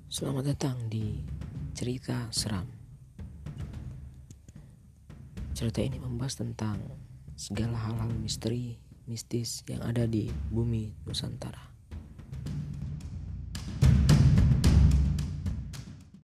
Selamat datang di Cerita Seram. Cerita ini membahas tentang segala hal-hal misteri, mistis yang ada di bumi Nusantara.